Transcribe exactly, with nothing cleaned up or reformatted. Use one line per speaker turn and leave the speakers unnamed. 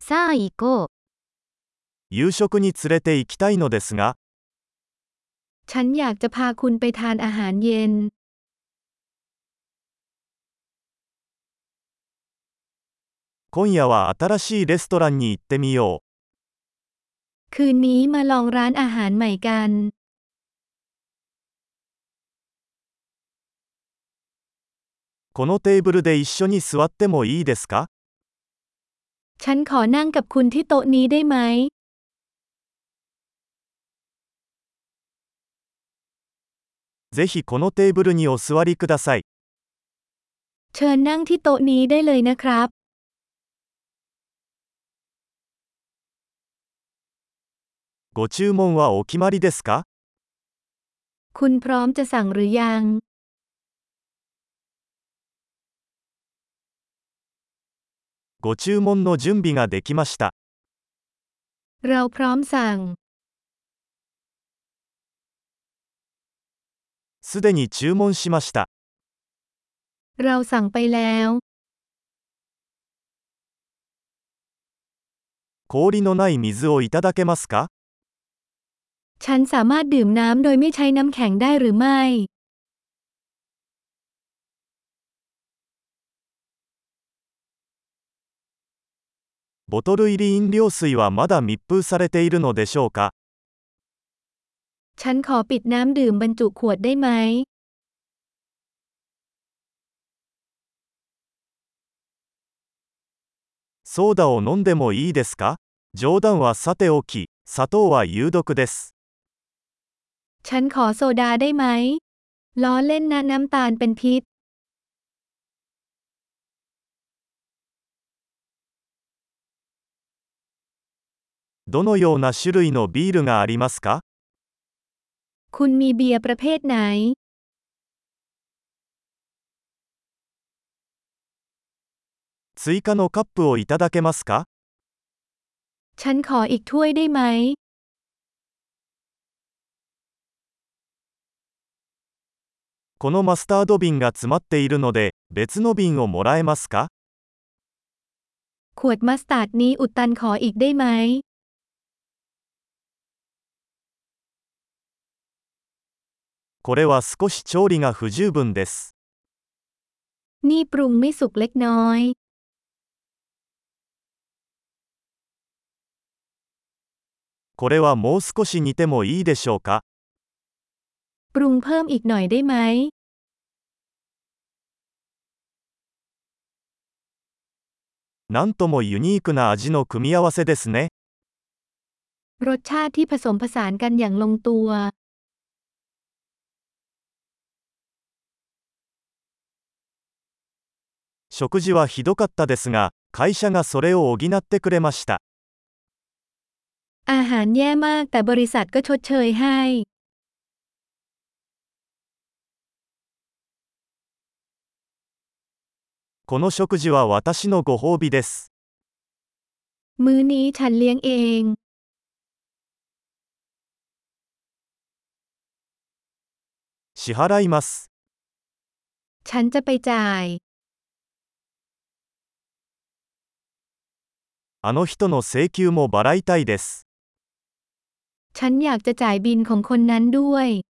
さあ行こう。
夕食に連れて行きたいのですが、
ฉันอยากจะพาคุณไปทานอาหารเย็น
今夜は新しいレストランに行ってみよう。
คืนนี้มาลองร้านอาหารใหม่กัน
このテーブルで一緒に座ってもいいですか？
ฉันขอนั่งกับคุณที่โต๊ะนี้ได้ไหม
ぜひこのテーブルにお座りください。
เชิญนั่งที่โต๊ะนี้ได้เลยนะครับ
ご注文はお決まりですか？
คุณพร้อมจะสั่งหรือยัง
ご注文の準備ができました。
เราพร้อมสั่ง
すでに注文しました。
เราสั่งไปแล้ว
氷のない水をいただけますか？
ฉันสามารถดื่มน้ำโดยไม่ใช้น้ำแข็งได้หรือไม่
ボトル入り飲料水はまだ密封されているのでしょうか？
ฉันขอปิดน้ำดื่มบรรจุขวดได้ไหม
ソーダを飲んでもいいですか？冗談はさておき、砂糖は有毒です。
ฉันขอโซดาได้ไหมล้อเล่นนะน้ำตาลเป็นพิษ
どのような種類のビールがありますか？
คุณมีเบียร์ประเภทไหน
追加のカップをいただけますか？
ฉันขออีกถ้วยได้ไหม
このマスタード瓶が詰まっているので、別の瓶をもらえますか？
ขวดมัสตาร์ดนี้อุดตันขออีกได้ไหม
これは少し調理が不十分です。
นี่ปรุงไม่สุกเล็กน้อย
これはもう少し煮てもいいでしょうか？
ปรุงเพิ่มอีกหน่อยได้ไหม
なんともユニークな味の組み合わせですね。
รสชาติที่ผสมผสานกันอย่างลงตัว
食事はひどかったですが、会社がそれを補ってくれました。
อาหารแย่มากแต่บริษัทก็ชดเชยให้
この食事は私のご褒美です。
มื้อนี้ฉันเลี้ยงเอง
支払います。
ฉันจะไปจ่าย
あの人の請求も払いたいです。
ฉันอยากจะจ่ายบิลของคนนั้นด้วย